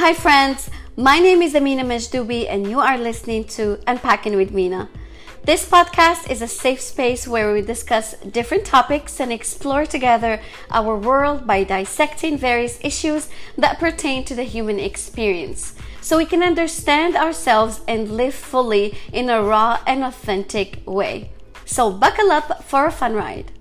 Hi friends, my name is Amina Majdubi and you are listening to Unpacking with Mina. This podcast is a safe space where we discuss different topics and explore together our world by dissecting various issues that pertain to the human experience, so we can understand ourselves and live fully in a raw and authentic way. So buckle up for a fun ride.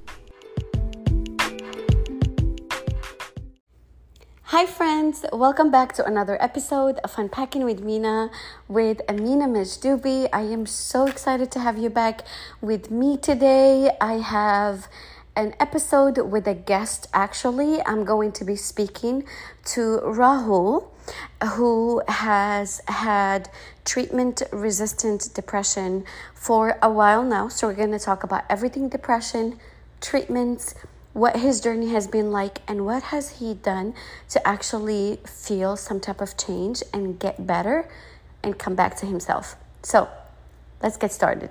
Hi friends, welcome back to another episode of Unpacking with Mina with Amina Majdubi. I am so excited to have you back with me today. I have an episode with a guest actually. I'm going to be speaking to Rahul, who has had treatment-resistant depression for a while now. So we're going to talk about everything depression, treatments, what his journey has been like, and what has he done to actually feel some type of change and get better and come back to himself. So let's get started.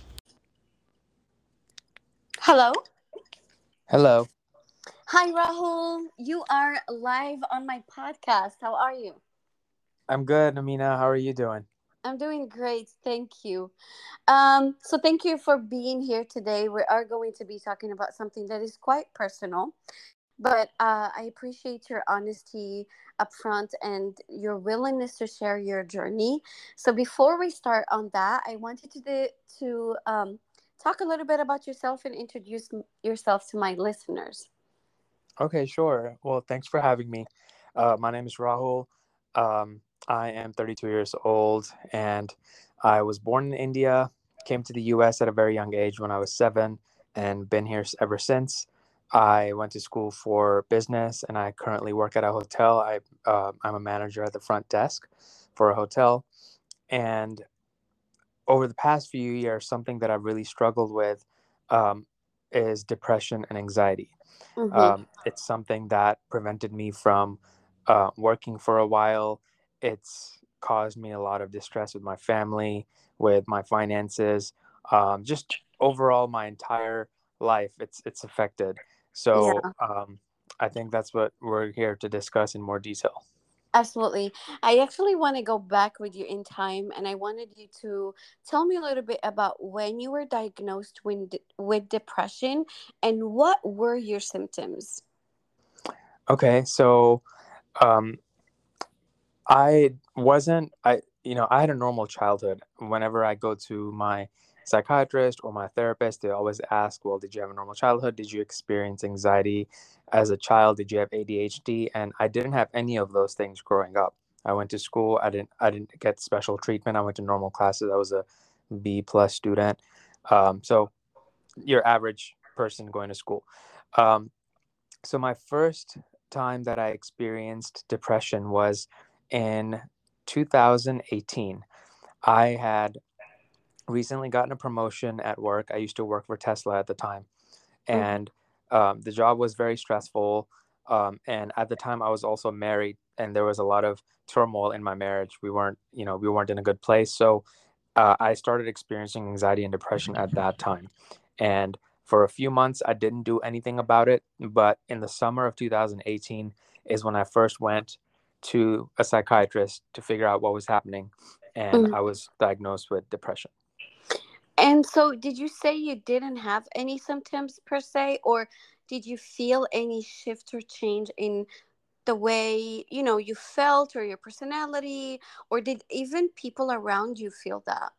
Hello. Hello. Hi, Rahul. You are live on my podcast. How are you? I'm good, Amina. How are you doing? I'm doing great. Thank you. So thank you for being here today. We are going to be talking about something that is quite personal, but I appreciate your honesty upfront and your willingness to share your journey. So before we start on that, I wanted to talk a little bit about yourself and introduce yourself to my listeners. Okay, sure. Well, thanks for having me. My name is Rahul. I am 32 years old, and I was born in India, came to the U.S. at a very young age when I was 7, and been here ever since. I went to school for business, and I currently work at a hotel. I'm a manager at the front desk for a hotel. And over the past few years, something that I've really struggled with um, is depression and anxiety. Mm-hmm. It's something that prevented me from working for a while. It's caused me a lot of distress with my family, with my finances, just overall my entire life. It's affected. So Yeah. I think that's what we're here to discuss in more detail. Absolutely. I actually want to go back with you in time, and I wanted you to tell me a little bit about when you were diagnosed with depression and what were your symptoms. Okay, so um, I had a normal childhood. Whenever I go to my psychiatrist or my therapist, they always ask, well, did you have a normal childhood? Did you experience anxiety as a child? Did you have ADHD? And I didn't have any of those things growing up. I went to school. I didn't get special treatment. I went to normal classes. I was a B plus student. So your average person going to school. Um, so my first time that I experienced depression was in 2018. I had recently gotten a promotion at work. I used to work for Tesla at the time, Mm-hmm. and the job was very stressful. And at the time, I was also married, and there was a lot of turmoil in my marriage. We weren't in a good place. So I started experiencing anxiety and depression at that time. And for a few months, I didn't do anything about it. But in the summer of 2018 is when I first went to a psychiatrist to figure out what was happening. And Mm-hmm. I was diagnosed with depression. And so, did you say you didn't have any symptoms per se, or did you feel any shift or change in the way you felt or your personality, or did even people around you feel that?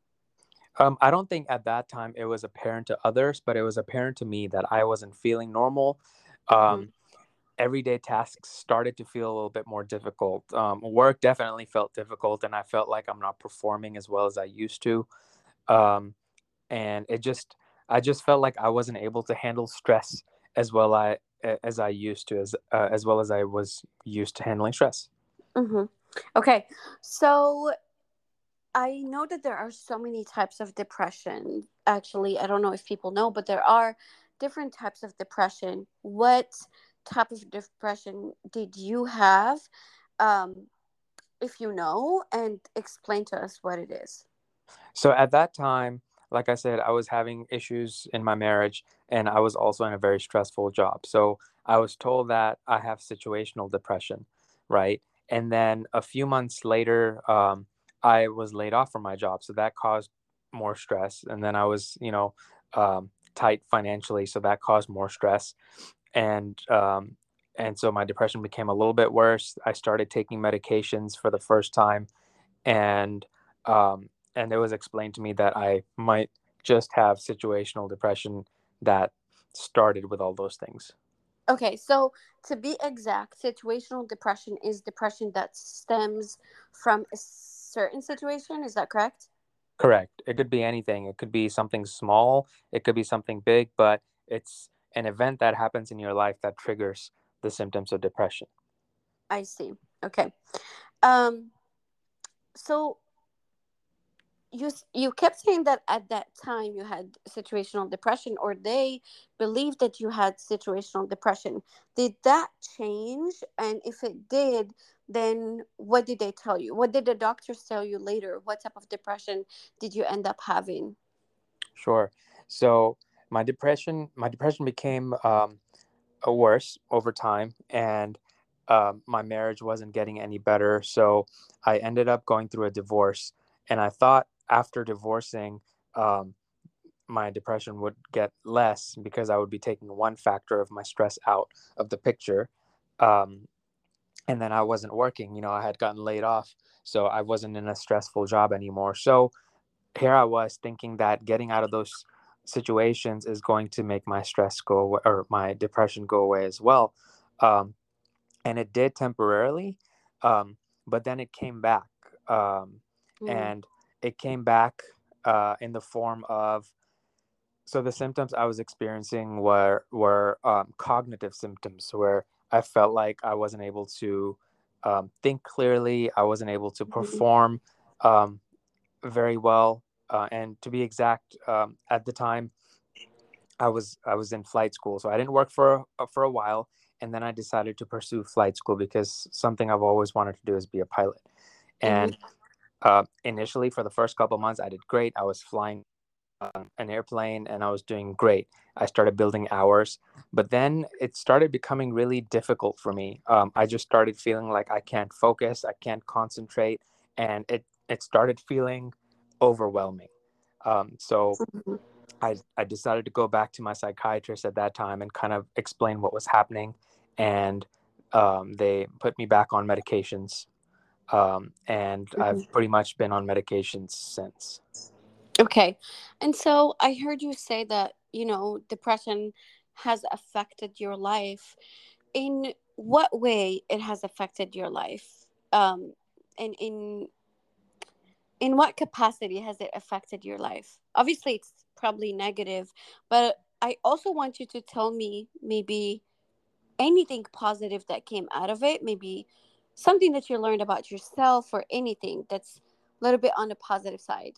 I don't think at that time it was apparent to others, but it was apparent to me that I wasn't feeling normal. Mm-hmm. Um, Everyday tasks started to feel a little bit more difficult. Work definitely felt difficult, and I felt like I'm not performing as well as I used to. Um, and I just felt like I wasn't able to handle stress as I used to, as well as I was used to handling stress. Mm-hmm. Okay, so I know that there are so many types of depression. Actually, I don't know if people know, but there are different types of depression. What type of depression did you have? Um, if you know, and explain to us what it is. So at that time, like I said, I was having issues in my marriage, and I was also in a very stressful job. So I was told that I have situational depression, right? And then a few months later, I was laid off from my job, so that caused more stress. And then I was, tight financially, so that caused more stress. And and so my depression became a little bit worse. I started taking medications for the first time, and and it was explained to me that I might just have situational depression that started with all those things. Okay, so to be exact, situational depression is depression that stems from a certain situation. Is that correct? Correct. It could be anything. It could be something small, it could be something big, but it's an event that happens in your life that triggers the symptoms of depression. I see. Okay. Um, so you kept saying that at that time you had situational depression, or they believed that you had situational depression. Did that change? And if it did, then what did they tell you? What did the doctors tell you later? What type of depression did you end up having? Sure. So my depression became worse over time, and my marriage wasn't getting any better. So I ended up going through a divorce, and I thought after divorcing, um, my depression would get less because I would be taking one factor of my stress out of the picture. Um, and then I wasn't working. I had gotten laid off, so I wasn't in a stressful job anymore. So here I was thinking that getting out of those situations is going to make my stress go away, or my depression go away as well. Um, and it did temporarily, um, but then it came back. Um, Mm-hmm. and it came back in the form of, so the symptoms I was experiencing were cognitive symptoms, where I felt like I wasn't able to think clearly. I wasn't able to perform um, very well. And to be exact, at the time I was in flight school, so I didn't work for a while, and then I decided to pursue flight school because something I've always wanted to do is be a pilot. And Mm-hmm. initially, for the first couple of months, I did great. I was flying an airplane and I was doing great. I started building hours, but then it started becoming really difficult for me. I just started feeling like I can't focus, I can't concentrate, and it started feeling overwhelming. So I decided to go back to my psychiatrist at that time and kind of explain what was happening, and they put me back on medications, and I've Mm-hmm. pretty much been on medications since. Okay. And so I heard you say that, depression has affected your life. In what way it has affected your life? And in what capacity has it affected your life? Obviously, it's probably negative, but I also want you to tell me maybe anything positive that came out of it, maybe something that you learned about yourself or anything that's a little bit on the positive side.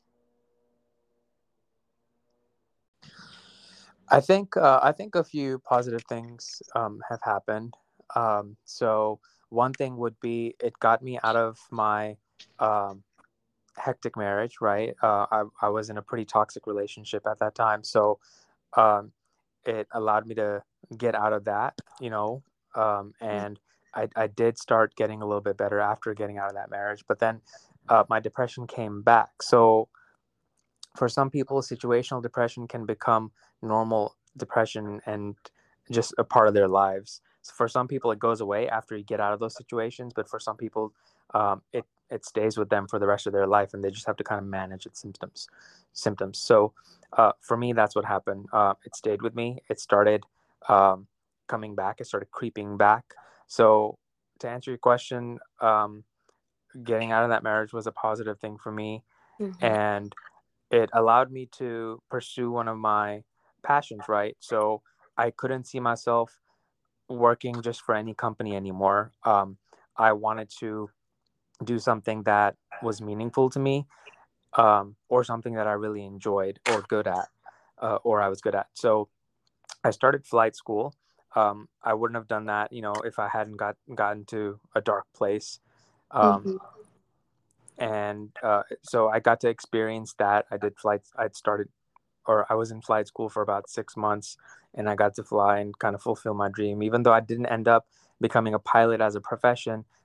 I think a few positive things have happened. So one thing would be it got me out of my um, hectic marriage. Right, I was in a pretty toxic relationship at that time, so um, it allowed me to get out of that. And I did start getting a little bit better after getting out of that marriage. But then my depression came back. So for some people, situational depression can become normal depression and just a part of their lives. So for some people, it goes away after you get out of those situations, but for some people, it stays with them for the rest of their life, and they just have to kind of manage its symptoms. So for me, that's what happened. It stayed with me. It started coming back. It started creeping back. So to answer your question, getting out of that marriage was a positive thing for me, Mm-hmm. and it allowed me to pursue one of my passions, right? So I couldn't see myself working just for any company anymore. I wanted to do something that was meaningful to me, or something that I really enjoyed or good at, or I was good at. So I started flight school. I wouldn't have done that, if I hadn't gotten to a dark place. Um, Mm-hmm. and so I got to experience that. I did flights. I was in flight school for about 6 months, and I got to fly and kind of fulfill my dream. Even though I didn't end up becoming a pilot as a profession,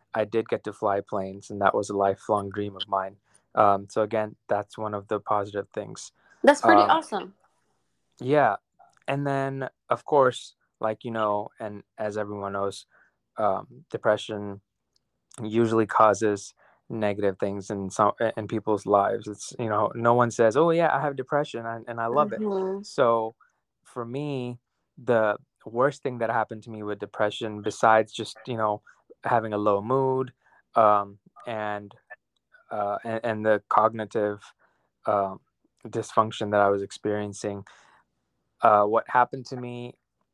I did get to fly planes, and that was a lifelong dream of mine. So again, that's one of the positive things. That's pretty Um, awesome. yeah, and then of course, like and as everyone knows, depression usually causes negative things in people's lives. It's no one says, "Oh yeah, I have depression," and I love it. Mm-hmm. So for me, the worst thing that happened to me with depression, besides just having a low mood, um, and and the cognitive um, dysfunction that I was experiencing, what happened to me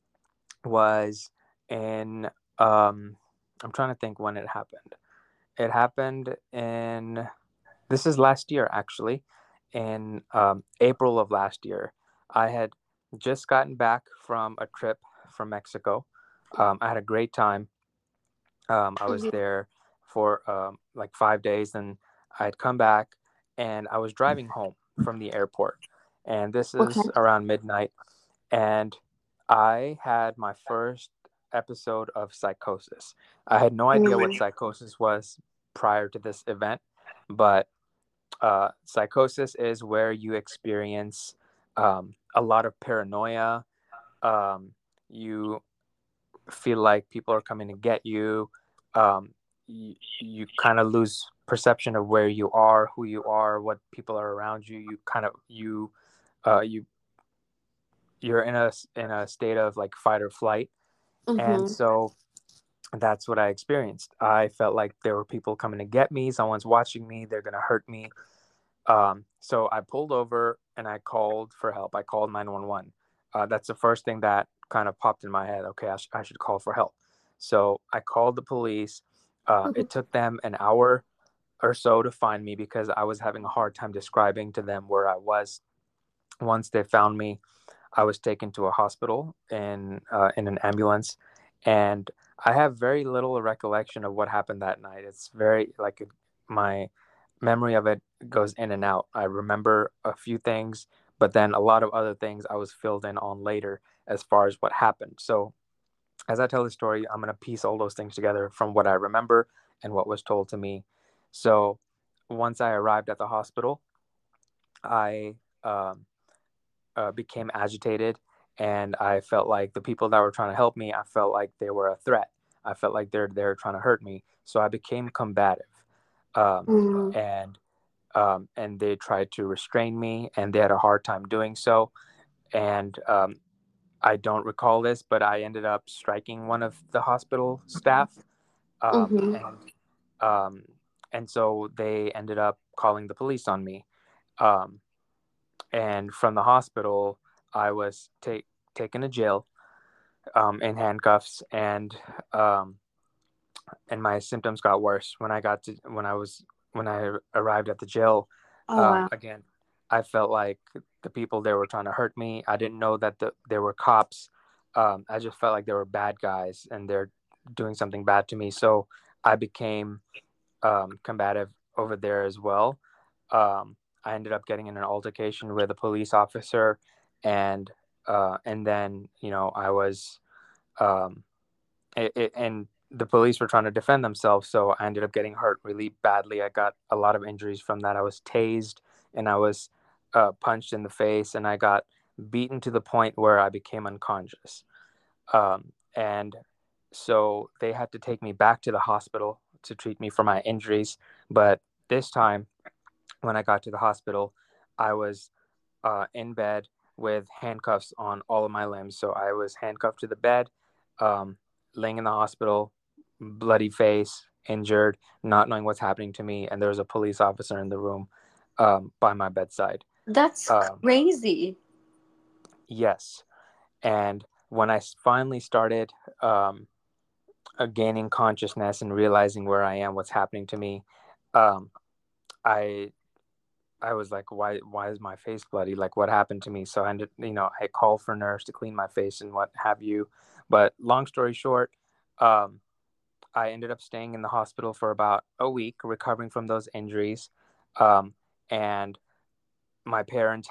was in I'm trying to think when it happened. It happened in this is last year actually, in April of last year. I had just gotten back from a trip from Mexico. I had a great time. I was Mm-hmm. there for like 5 days, and I had come back, and I was driving home from the airport, and this Okay. is around midnight, and I had my first episode of psychosis. I had no idea what Mm-hmm. psychosis was prior to this event, but psychosis is where you experience a lot of paranoia. You feel like people are coming to get you. You kind of lose perception of where you are, who you are, what people are around you. You kind of you you're in a state of like fight or flight, and Mm-hmm. so that's what I experienced. I felt like there were people coming to get me. Someone's watching me. They're gonna hurt me. So I pulled over and I called for help. I called 911. That's the first thing that kind of popped in my head. Okay, I should call for help. So I called the police. It took them an hour or so to find me because I was having a hard time describing to them where I was. Once they found me, I was taken to a hospital in an ambulance, and I have very little recollection of what happened that night. It's very like my memory of it goes in and out. I remember a few things, but then a lot of other things I was filled in on later as far as what happened. So as I tell the story, I'm going to piece all those things together from what I remember and what was told to me. So once I arrived at the hospital, I became agitated, and I felt like the people that were trying to help me, I felt like they were a threat. I felt like they're trying to hurt me. So I became combative, um, Mm-hmm. and they tried to restrain me, and they had a hard time doing so. And I don't recall this, but I ended up striking one of the hospital staff, um, Mm-hmm. and um, and so they ended up calling the police on me. Um, and from the hospital, I was taken to jail in handcuffs, um, and my symptoms got worse when I arrived at the jail. Oh wow. Again, I felt like the people there were trying to hurt me. I didn't know that there were cops. I just felt like there were bad guys and they're doing something bad to me. So I became combative over there as well. I ended up getting in an altercation with a police officer, and then I was um, and the police were trying to defend themselves, so I ended up getting hurt really badly. I got a lot of injuries from that. I was tased, and I was punched in the face, and I got beaten to the point where I became unconscious. And so they had to take me back to the hospital to treat me for my injuries. But this time, when I got to the hospital, I was in bed with handcuffs on all of my limbs. So I was handcuffed to the bed, um, laying in the hospital, bloody face, injured, not knowing what's happening to me. And there was a police officer in the room by my bedside. That's Um, crazy. yes. And when I finally started gaining consciousness and realizing where I am, what's happening to me, um, I I was like, why is my face bloody? Like, what happened to me? So I ended, I called for a nurse to clean my face and what have you. But long story short, um, I ended up staying in the hospital for about a week, recovering from those injuries. Um, and my parents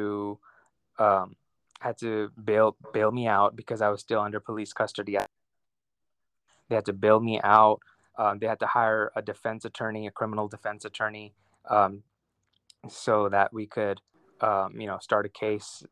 um, had to bail me out because I was still under police custody. They had to bail me out. They had to hire a defense attorney, a criminal defense attorney, um, so that we could, start a case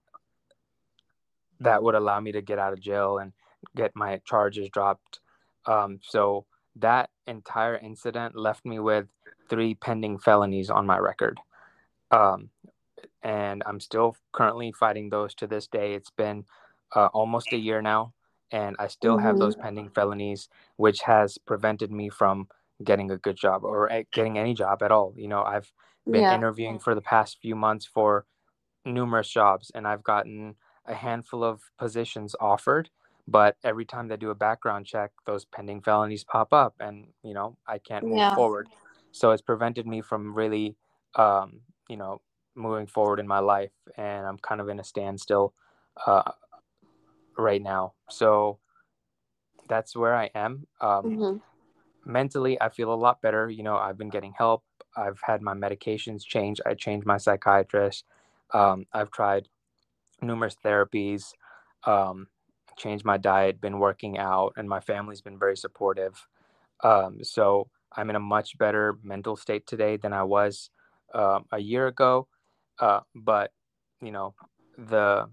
that would allow me to get out of jail and get my charges dropped. So that entire incident left me with 3 pending felonies on my record. Um, and I'm still currently fighting those to this day. It's been almost a year now, and I still have those Mm-hmm. pending felonies, which has prevented me from getting a good job or getting any job at all. I've been Yeah. interviewing for the past few months for numerous jobs, and I've gotten a handful of positions offered. But every time they do a background check, those pending felonies pop up, and I can't move Yeah. forward. So it's prevented me from really, um, you know, moving forward in my life, and I'm kind of in a standstill uh, right now. So that's where I am. Mm-hmm. Mentally, I feel a lot better. I've been getting help. I've had my medications changed. I changed my psychiatrist. I've tried numerous therapies, um, changed my diet, been working out, and my family's been very supportive. So I'm in a much better mental state today than I was a year ago. But you know, the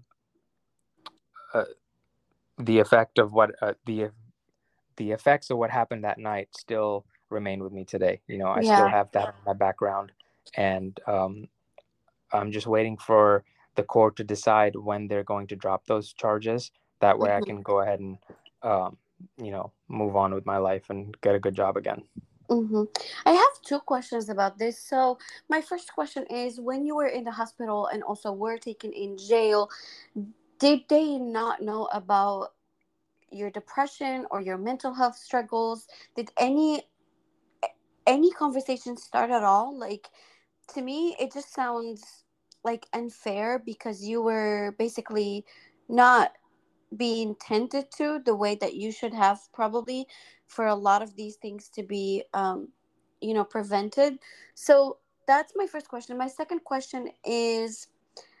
uh, the effect of what the effects of what happened that night still remain with me today. I still Yeah. have that in my background, and I'm just waiting for the court to decide when they're going to drop those charges. That way, I Mm-hmm. can go ahead and move on with my life and get a good job again. Mm-hmm. I have two questions about this. So, my first question is, when you were in the hospital and also were taken in jail, did they not know about your depression or your mental health struggles? Did any conversation start at all? Like, to me, it just sounds like unfair because you were basically not being tended to the way that you should have, probably, for a lot of these things to be prevented. So that's my first question. My second question is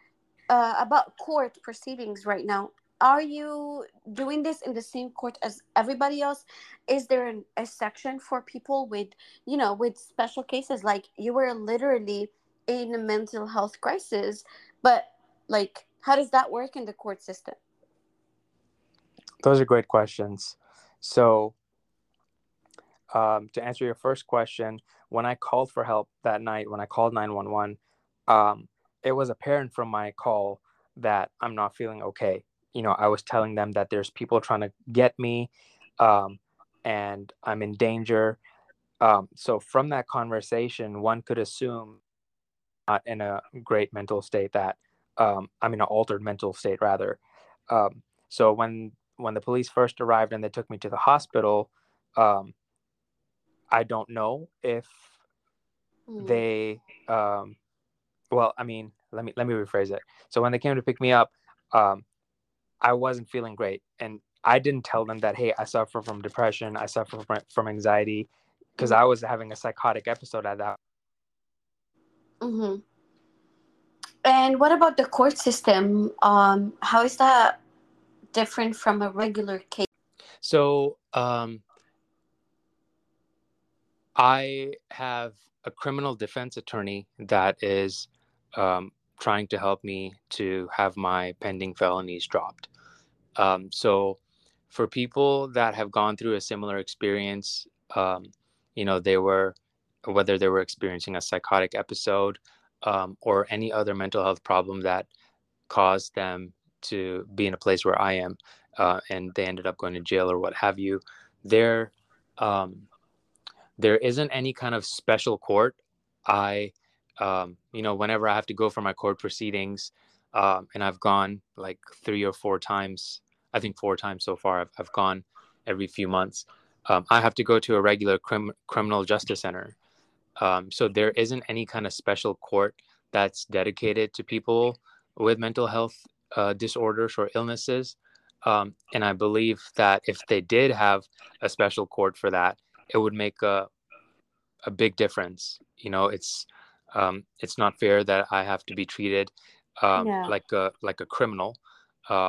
about court proceedings right now. Are you doing this in the same court as everybody else? Is there a section for people with, with special cases? Like, you were literally in a mental health crisis, but, like, how does that work in the court system? Those are great questions. So, to answer your first question, when I called for help that night, when I called 911, um, it was apparent from my call that I'm not feeling okay. I was telling them that there's people trying to get me, um, and I'm in danger. So from that conversation, one could assume not in a great mental state, that I'm in an altered mental state rather. So when the police first arrived and they took me to the hospital, um, I don't know if Mm. they well, I mean, let me rephrase it. So when they came to pick me up, um, I wasn't feeling great, and I didn't tell them that, hey, I suffer from depression, I suffer from anxiety, because I was having a psychotic episode at that. Mm-hmm. And what about the court system? How is that different from a regular case? So I have a criminal defense attorney that is um, trying to help me to have my pending felonies dropped. So, for people that have gone through a similar experience, they were, whether they were experiencing a psychotic episode or any other mental health problem that caused them to be in a place where I am, and they ended up going to jail or what have you, there, um, there isn't any kind of special court. I, whenever I have to go for my court proceedings, and I've gone like 3 or 4 times, I think 4 times so far. I've gone every few months. I have to go to a regular criminal justice center. So there isn't any kind of special court that's dedicated to people with mental health disorders or illnesses. And I believe that if they did have a special court for that, it would make a big difference. It's not fair that I have to be treated Yeah. like a criminal,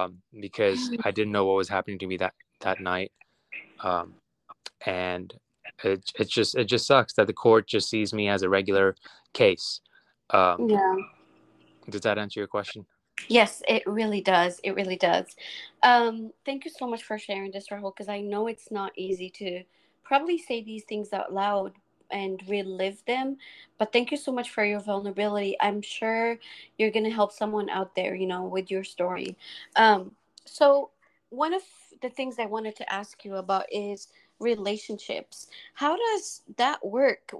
because I didn't know what was happening to me that night. Um, and it just sucks that the court just sees me as a regular case. Um, Yeah. does that answer your question? Yes, it really does. It really does. Thank you so much for sharing this, Rahul, because I know it's not easy to probably say these things out loud and relive them. But thank you so much for your vulnerability. I'm sure you're going to help someone out there, with your story. So, one of the things I wanted to ask you about is relationships. How does that work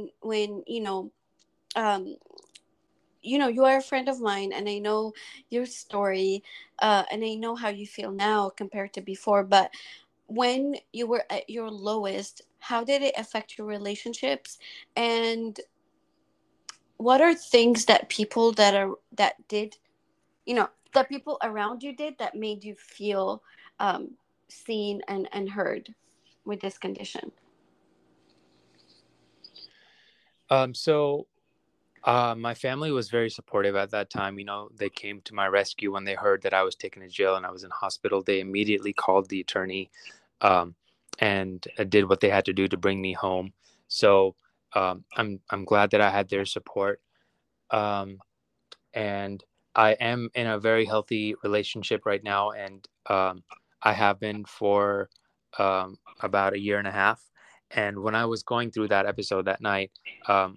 um, you are a friend of mine, and I know your story, and I know how you feel now compared to before. But when you were at your lowest, how did it affect your relationships? And what are things that people that did, that people around you did that made you feel um, seen and heard with this condition? So my family was very supportive at that time. They came to my rescue when they heard that I was taken to jail and I was in hospital. They immediately called the attorney, um, and did what they had to do to bring me home. So I'm glad that I had their support. Um, and I am in a very healthy relationship right now, and I have been for about a year and a half. And when I was going through that episode that night, um,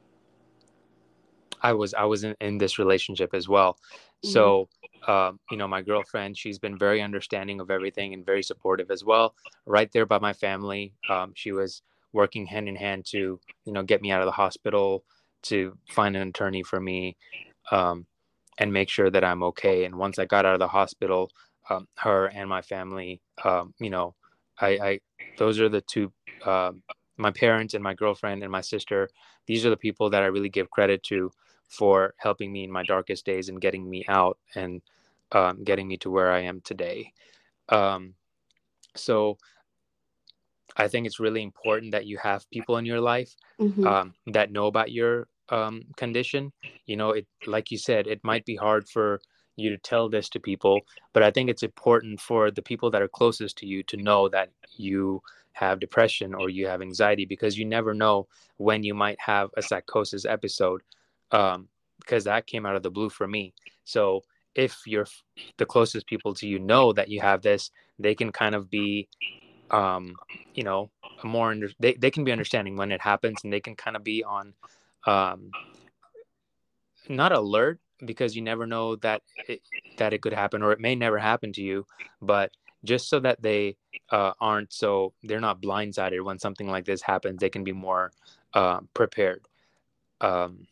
I was in this relationship as well. Mm-hmm. So my girlfriend, she's been very understanding of everything and very supportive as well. Right there by my family, she was working hand in hand to get me out of the hospital, to find an attorney for me, um, and make sure that I'm okay. And once I got out of the hospital, her and my family, I those are the two, my parents and my girlfriend and my sister. These are the people that I really give credit to for helping me in my darkest days and getting me out, and getting me to where I am today. Um, so I think it's really important that you have people in your life Mm-hmm. that know about your condition. Like you said, it might be hard for you to tell this to people, but I think it's important for the people that are closest to you to know that you have depression or you have anxiety, because you never know when you might have a psychosis episode, because that came out of the blue for me. So if the closest people to you know that you have this, they can kind of be um you know they can be understanding when it happens, and they can kind of be on, um not alert, because you never know that it could happen, or it may never happen to you, but just so that they they're not blindsided when something like this happens, they can be more prepared. um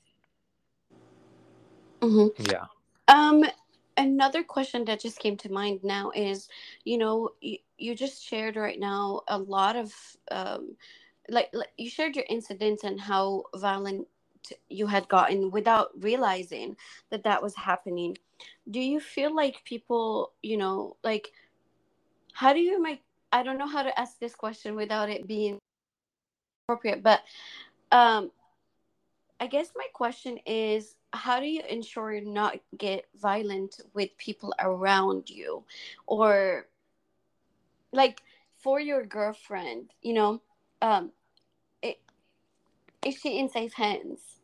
Mm-hmm. yeah. Um, Another question that just came to mind now is, you just shared right now a lot of, like you shared your incidents and how violent you had gotten without realizing that that was happening. Do you feel like people, like, how do you make, I don't know how to ask this question without it being appropriate, but um, I guess my question is, how do you ensure you not get violent with people around you, or like for your girlfriend, um, i- is she in safe hands?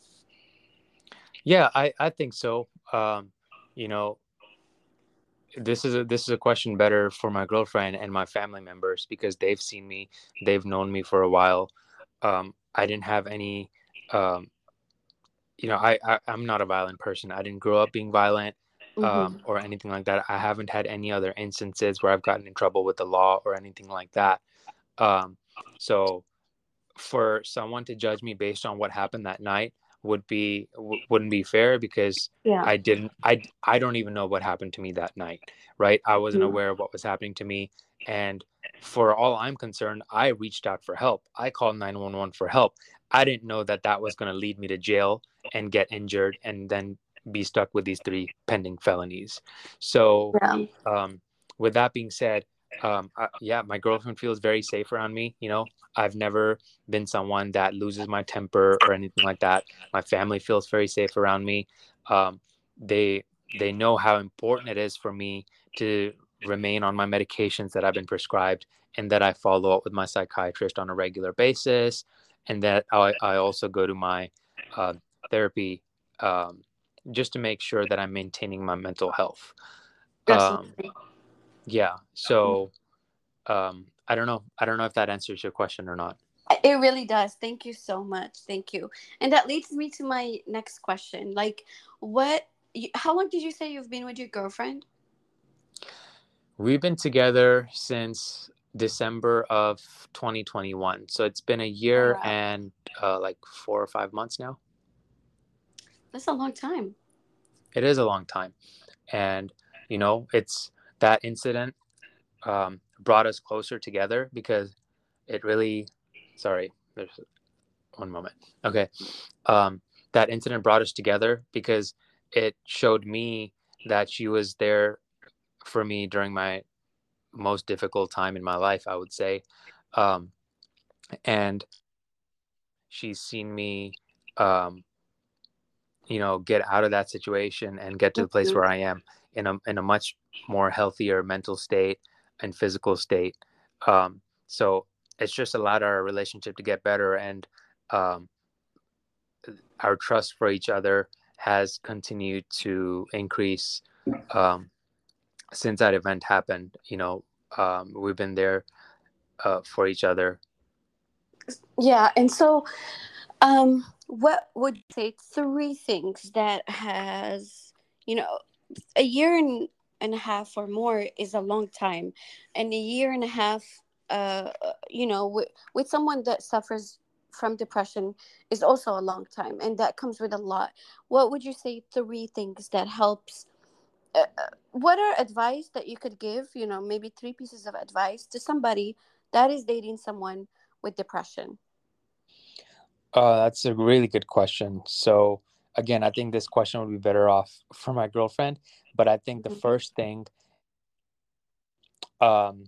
Yeah, I think so. You know, this is a question better for my girlfriend and my family members, because they've seen me, they've known me for a while. I didn't have any, um, I'm not a violent person. I didn't grow up being violent, Mm-hmm. or anything like that. I haven't had any other instances where I've gotten in trouble with the law or anything like that. Um, so for someone to judge me based on what happened that night wouldn't be fair, because Yeah. I don't even know what happened to me that night, right? I wasn't Mhm. aware of what was happening to me. And for all I'm concerned, I reached out for help. I called 911 for help. I didn't know that that was going to lead me to jail and get injured and then be stuck with these three pending felonies. So Yeah. um, with that being said, yeah, my girlfriend feels very safe around me. I've never been someone that loses my temper or anything like that. My family feels very safe around me. Um, they they know how important it is for me to remain on my medications that I've been prescribed, and that I follow up with my psychiatrist on a regular basis, and that I also go to my uh, therapy, um, just to make sure that I'm maintaining my mental health. Um, Absolutely. yeah. So I don't know. I don't know if that answers your question or not. It really does. Thank you so much. Thank you. And that leads me to my next question. Like, how long did you say you've been with your girlfriend? We've been together since December of 2021. So it's been a Oh, year wow. and like 4 or 5 months now. That's a long time. It is a long time. And, it's that incident brought us closer together because it really, sorry, there's one moment. Okay. Um, that incident brought us together because it showed me that she was there for me during my most difficult time in my life, I would say. Um, and she's seen me, um, get out of that situation and get to the place Mhm. where I am in a much more healthier mental state and physical state. So it's just allowed our relationship to get better, and um, our trust for each other has continued to increase um, since that event happened. We've been there for each other. Yeah. And so, what would you say three things that has, you know, a year and a half or more is a long time, and a year and a half, with someone that suffers from depression is also a long time, and that comes with a lot. What would you say three things that helps? What are advice that you could give? Maybe three pieces of advice to somebody that is dating someone with depression. That's a really good question. So again, I think this question would be better off for my girlfriend, but I think the Mhm. first thing, um,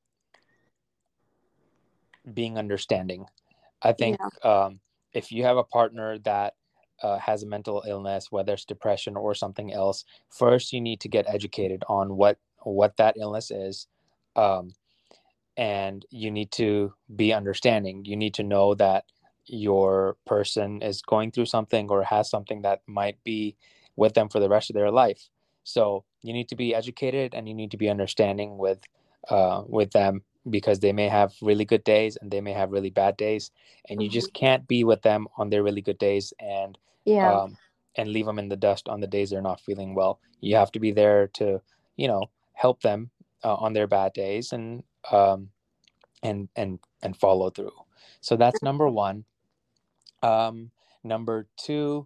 being understanding. I think Yeah. if you have a partner that has a mental illness, whether it's depression or something else, first you need to get educated on what that illness is, um, and you need to be understanding. You need to know that your person is going through something or has something that might be with them for the rest of their life. So you need to be educated and you need to be understanding with them, because they may have really good days and they may have really bad days, and you just Mhm. can't be with them on their really good days Yeah. um, and leave them in the dust on the days they're not feeling well. You have to be there to help them on their bad days, um, and follow through. So that's number one. Number two,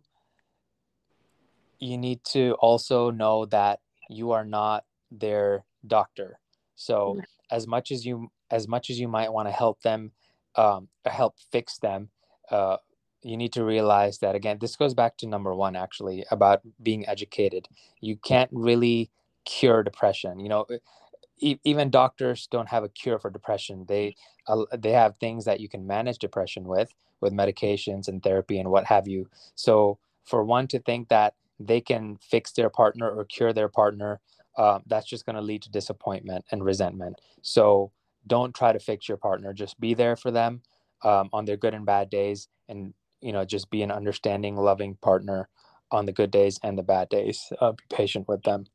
you need to also know that you are not their doctor. So as much as you might want to help them, help fix them, uh, you need to realize that, again, this goes back to number one, actually, about being educated. You can't really cure depression. Even doctors don't have a cure for depression. They have things that you can manage depression with medications and therapy and what have you. So for one to think that they can fix their partner or cure their partner, that's just going to lead to disappointment and resentment. So don't try to fix your partner. Just be there for them on their good and bad days, and just be an understanding, loving partner on the good days and the bad days. Be patient with them.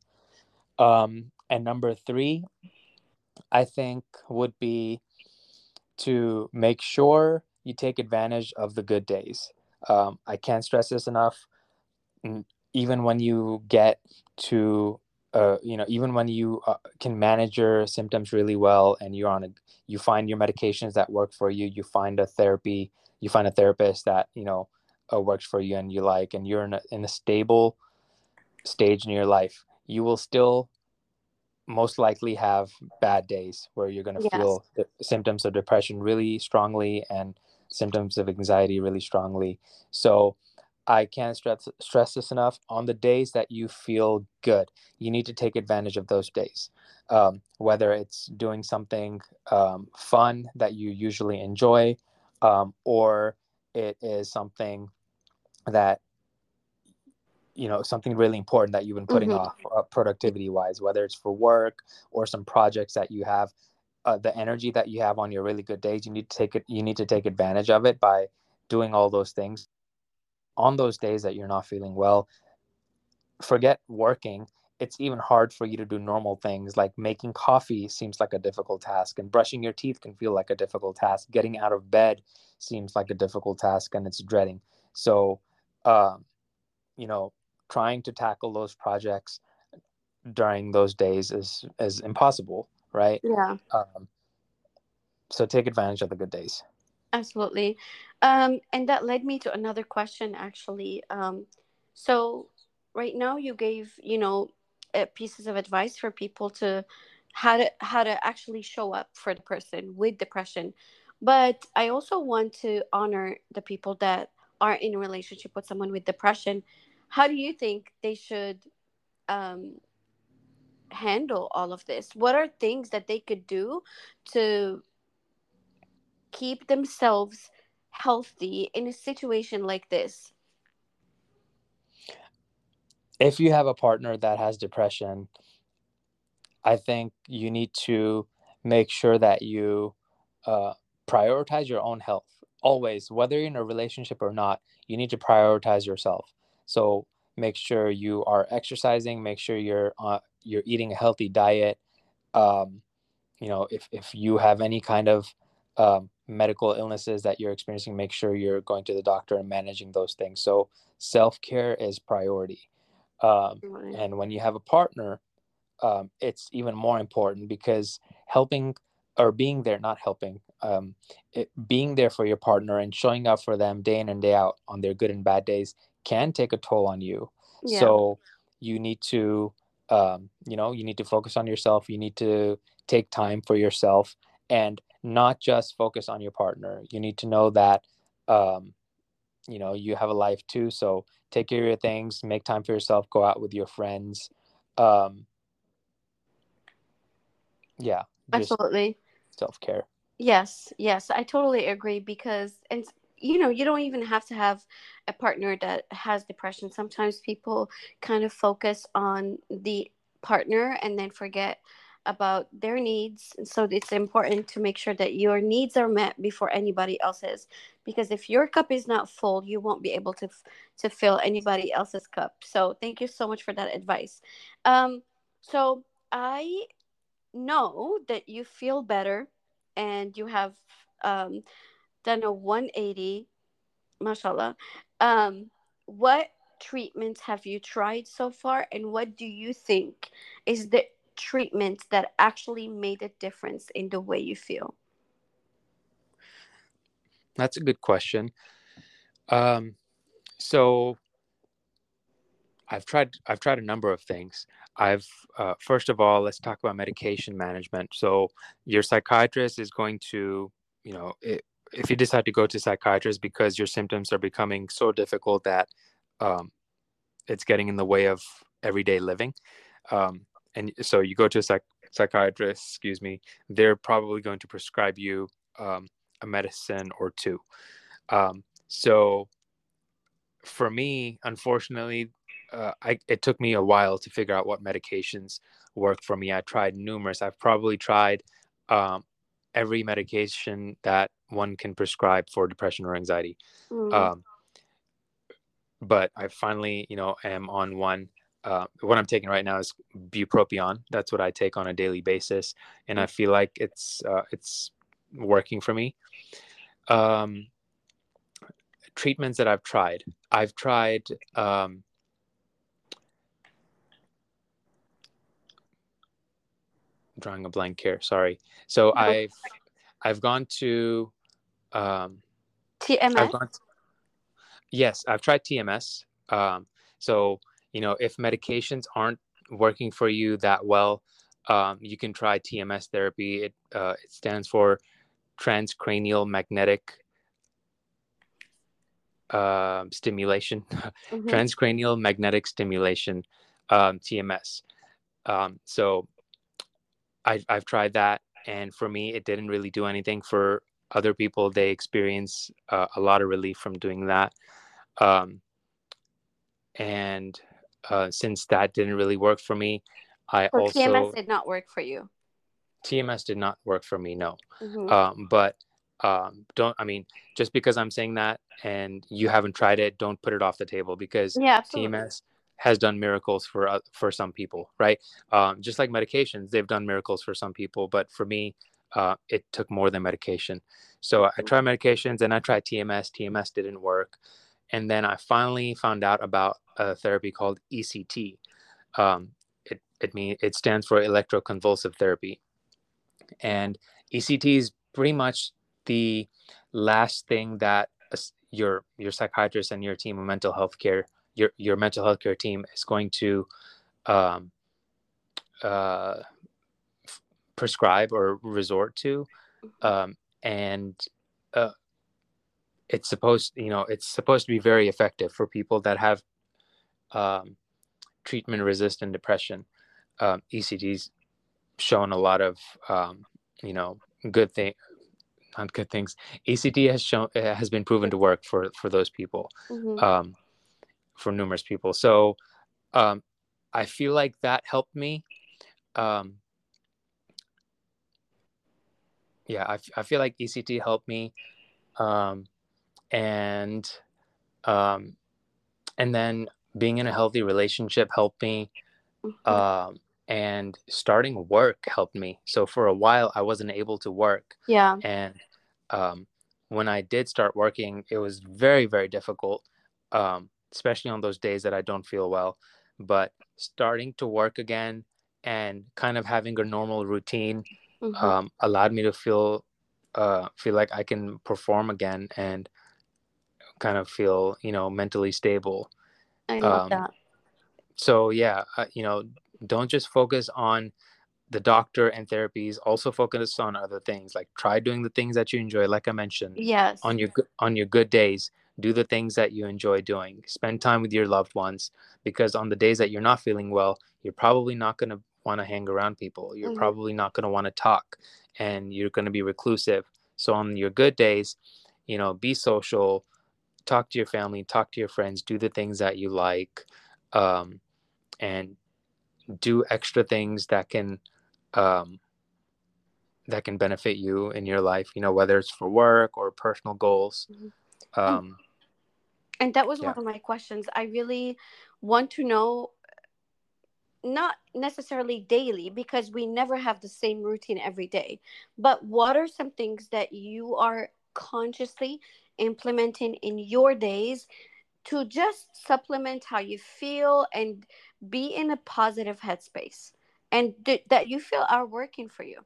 And number three, I think, would be to make sure you take advantage of the good days. I can't stress this enough. Mm, Even when you get to, even when you can manage your symptoms really well, and you find your medications that work for you, you find a therapist that works for you and you like, and you're in a stable stage in your life, you will still most likely have bad days where you're going to Yes. feel the symptoms of depression really strongly and symptoms of anxiety really strongly. So I can't stress this enough. On the days that you feel good, you need to take advantage of those days. Whether it's doing something fun that you usually enjoy, or it is something that something really important that you've been putting Mm-hmm. off productivity wise, whether it's for work or some projects that you have. The energy that you have on your really good days, you need to take advantage of it by doing all those things. On those days that you're not feeling well, forget working. It's even hard for you to do normal things, like making coffee seems like a difficult task, and brushing your teeth can feel like a difficult task. Getting out of bed seems like a difficult task, and it's dreading. So um, you know trying to tackle those projects during those days is impossible, right? Yeah, um, so take advantage of the good days. absolutely. And that led me to another question, actually. So right now you gave, pieces of advice for people to how to actually show up for the person with depression. But I also want to honor the people that are in a relationship with someone with depression. How do you think they should um, handle all of this? What are things that they could do to keep themselves healthy in a situation like this? If you have a partner that has depression, I think you need to make sure that you uh, prioritize your own health. Always, whether you're in a relationship or not, you need to prioritize yourself. So make sure you are exercising. Make sure you're eating a healthy diet. Um, if you have any kind of medical illnesses that you're experiencing, make sure you're going to the doctor and managing those things. So self care is priority. Um, Right. and when you have a partner, it's even more important, because helping or being there, not helping, being there for your partner and showing up for them day in and day out on their good and bad days can take a toll on you. Yeah, So you need to, you need to focus on yourself. You need to take time for yourself and not just focus on your partner. You need to know that, you have a life too. So take care of your things, make time for yourself, go out with your friends. Um, yeah, just absolutely. self-care. Yes, yes, I totally agree because, and you don't even have to have a partner that has depression. Sometimes people kind of focus on the partner and then forget about their needs. And so it's important to make sure that your needs are met before anybody else's, because if your cup is not full, you won't be able to fill anybody else's cup. So thank you so much for that advice. Um, so I know that you feel better and you have um, done a 180, mashallah. What treatments have you tried so far, and what do you think is the treatment that actually made a difference in the way you feel? That's a good question. Um, so I've tried a number of things. I've First of all, let's talk about medication management. So your psychiatrist is going to, if you decide to go to psychiatrist because your symptoms are becoming so difficult that um, it's getting in the way of everyday living, and so you go to a psychiatrist, excuse me, they're probably going to prescribe you a medicine or two. So for me, unfortunately, it took me a while to figure out what medications work for me. I tried numerous. I've probably tried um, every medication that one can prescribe for depression or anxiety. Mm, Um, but I finally, am on one. What I'm taking right now is bupropion. That's what I take on a daily basis, and I feel like it's working for me. Um, Treatments that I've tried. Drawing a blank here. Sorry. So no. I've gone to um, I've TMS? gone. Yes, I've tried TMS. So if medications aren't working for you that well, you can try TMS therapy. It stands for transcranial magnetic stimulation, Mm-hmm. transcranial magnetic stimulation, TMS. So I've tried that, and for me, it didn't really do anything. For other people, they experience a lot of relief from doing that. Um, and since that didn't really work for me, I So TMS also did not work for you. TMS did not work for me. No, Mm-hmm. but don't. I mean, just because I'm saying that and you haven't tried it, don't put it off the table, because Yeah, absolutely. TMS has done miracles for some people, right? Just like medications, they've done miracles for some people, but for me, it took more than medication. So I tried medications and I tried TMS. TMS didn't work, and then I finally found out about a therapy called ECT. Um, it stands for electroconvulsive therapy, and ECT is pretty much the last thing that your psychiatrist and your team of mental health care, your mental health care team is going to um, uh, prescribe or resort to, Mm-hmm. um, and uh, it's supposed to be very effective for people that have um, treatment resistant depression. ECT's shown a lot of you know good thing not good things. ECT has been proven to work for those people, Mm-hmm. um, for numerous people. So um, I feel like that helped me. Um, yeah, I feel like ECT helped me, um, and um, and then being in a healthy relationship helped me, Mm-hmm. um, and starting work helped me. So for a while, I wasn't able to work, Yeah. and um, when I did start working, it was very, very difficult, especially on those days that I don't feel well. But starting to work again and kind of having a normal routine Mm-hmm. allowed me to feel like I can perform again and kind of feel mentally stable. I love Um, that. so yeah, don't just focus on the doctor and therapies. Also focus on other things, like try doing the things that you enjoy, like I mentioned. Yes. On your good days, do the things that you enjoy doing. Spend time with your loved ones, because on the days that you're not feeling well, you're probably not going to want to hang around people. You're Mm-hmm. probably not going to want to talk, and you're going to be reclusive. So on your good days, be social, talk to your family, talk to your friends, do the things that you like, um, and do extra things um, that can benefit you in your life, whether it's for work or personal goals. Mm-hmm. And Um, and that was one yeah. of my questions. I really want to know, not necessarily daily because we never have the same routine every day, but what are some things that you are consciously implementing in your days to just supplement how you feel and be in a positive headspace, and that you feel are working for you?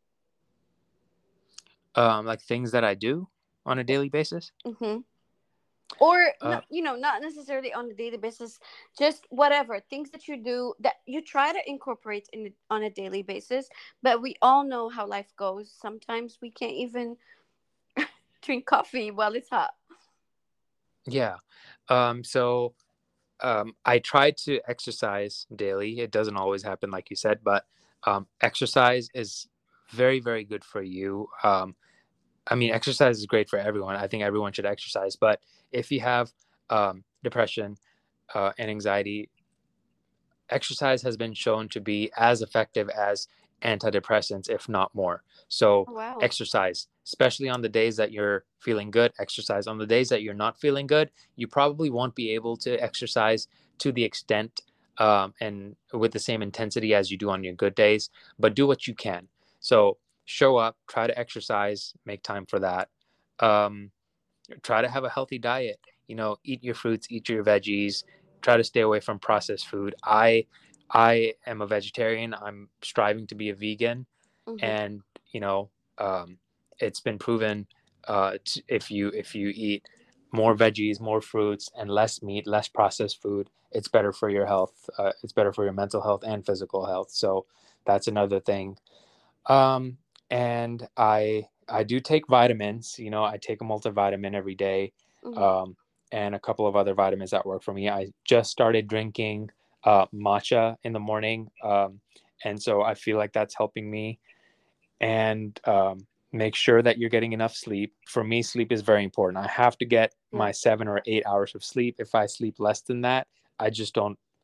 Like things that I do on a daily basis. Mm-hmm. Or Uh, not, not necessarily on a daily basis, just whatever things that you do that you try to incorporate on a daily basis. But we all know how life goes. Sometimes we can't even drink coffee while it's hot. yeah. So I try to exercise daily. It doesn't always happen, like you said, but exercise is very, very good for you. I mean, exercise is great for everyone. I think everyone should exercise. But if you have depression and anxiety, exercise has been shown to be as effective as antidepressants, if not more. So, Oh, wow. exercise, especially on the days that you're feeling good, exercise. On the days that you're not feeling good, you probably won't be able to exercise to the extent and with the same intensity as you do on your good days, but do what you can. So, show up, try to exercise, make time for that. Um, Try to have a healthy diet. Eat your fruits, eat your veggies. Try to stay away from processed food. I am a vegetarian. I'm striving to be a vegan, Mm-hmm. and you know, um, it's been proven, if you eat more veggies, more fruits, and less meat, less processed food, it's better for your health. It's better for your mental health and physical health. So that's another thing. um, and I do take vitamins. I take a multivitamin every day, Mm-hmm. um, and a couple of other vitamins that work for me. I just started drinking matcha in the morning, and so I feel like that's helping me. And make sure that you're getting enough sleep. For me, sleep is very important. I have to get Yeah. my 7 or 8 hours of sleep. If I sleep less than that, I just don't.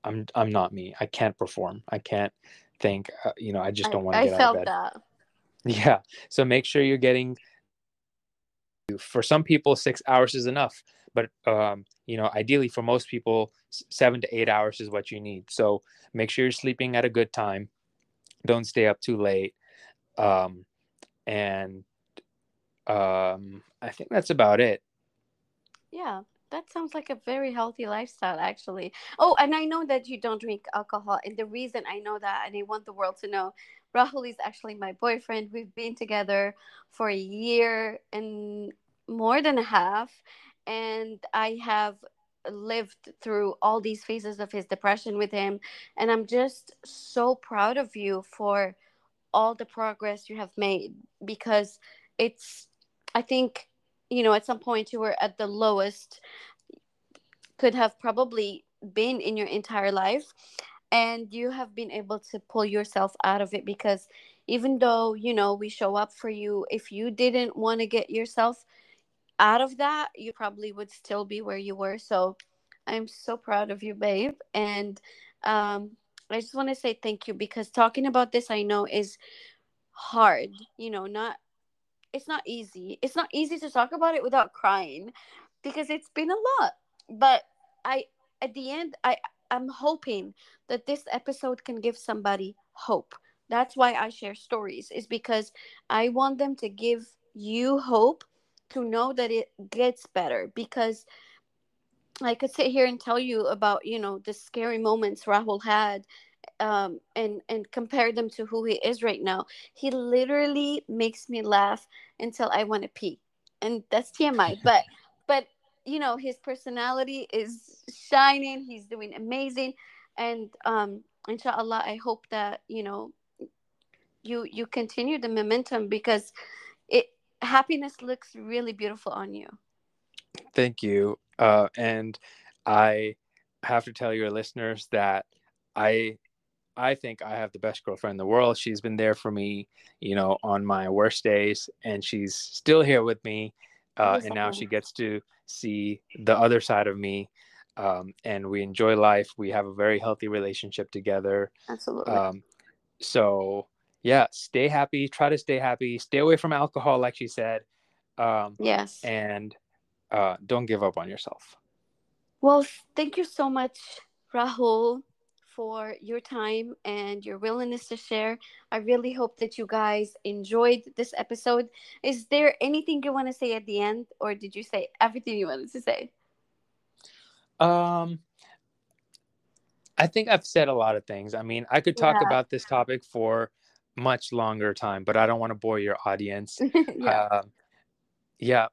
I'm not me. I can't perform. I can't think. I just don't want to I get out of felt bed. that. Yeah. So make sure you're getting. For some people, 6 hours is enough, but ideally for most people, 7 to 8 hours is what you need. So make sure you're sleeping at a good time. Don't stay up too late. Um, and I think that's about it. Yeah, that sounds like a very healthy lifestyle, actually. Oh, and I know that you don't drink alcohol. And the reason I know that, and I want the world to know, Rahul is actually my boyfriend. We've been together for a year and more than a half. And I have lived through all these phases of his depression with him. And I'm just so proud of you for all the progress you have made, because it's, I think, at some point you were at the lowest could have probably been in your entire life, and you have been able to pull yourself out of it, because even though we show up for you, if you didn't want to get yourself out of that, you probably would still be where you were. So I'm so proud of you, babe. And I just want to say thank you, because talking about this, I know, is hard. Not It's not easy. It's not easy to talk about it without crying, because it's been a lot. But I at the end, I'm hoping that this episode can give somebody hope. That's why I share stories, is because I want them to give you hope, to know that it gets better. Because I could sit here and tell you about, the scary moments Rahul had, and compare them to who he is right now. He literally makes me laugh until I want to pee, and that's TMI. But his personality is shining. He's doing amazing, and inshallah, I hope that you continue the momentum, because it happiness looks really beautiful on you. Thank you. And I have to tell your listeners that I I think I have the best girlfriend in the world. She's been there for me, on my worst days, and she's still here with me. And now she gets to see the other side of me. And we enjoy life. We have a very healthy relationship together. Absolutely. Um, so, yeah, stay happy. Try to stay happy. Stay away from alcohol, like she said. Um, Yes. and don't give up on yourself. Well, thank you so much, Rahul, for your time and your willingness to share. I really hope that you guys enjoyed this episode. Is there anything you want to say at the end, or did you say everything you wanted to say? Um, I think I've said a lot of things. I mean, I could talk Yeah. about this topic for much longer time, but I don't want to bore your audience. Yeah, Um, yeah,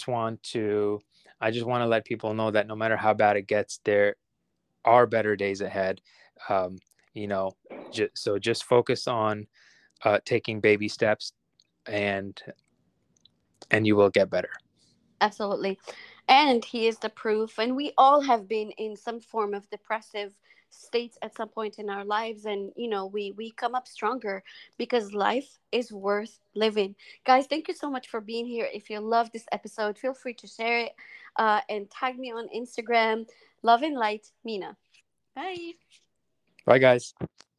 I just want to let people know that no matter how bad it gets, there are better days ahead. Um, you know, so just focus on taking baby steps, and you will get better. absolutely. And he is the proof. And we all have been in some form of depressive states at some point in our lives. And, we come up stronger, because life is worth living. Guys, thank you so much for being here. If you love this episode, feel free to share it, and tag me on Instagram. Love and light, Mina. Bye. Bye, guys.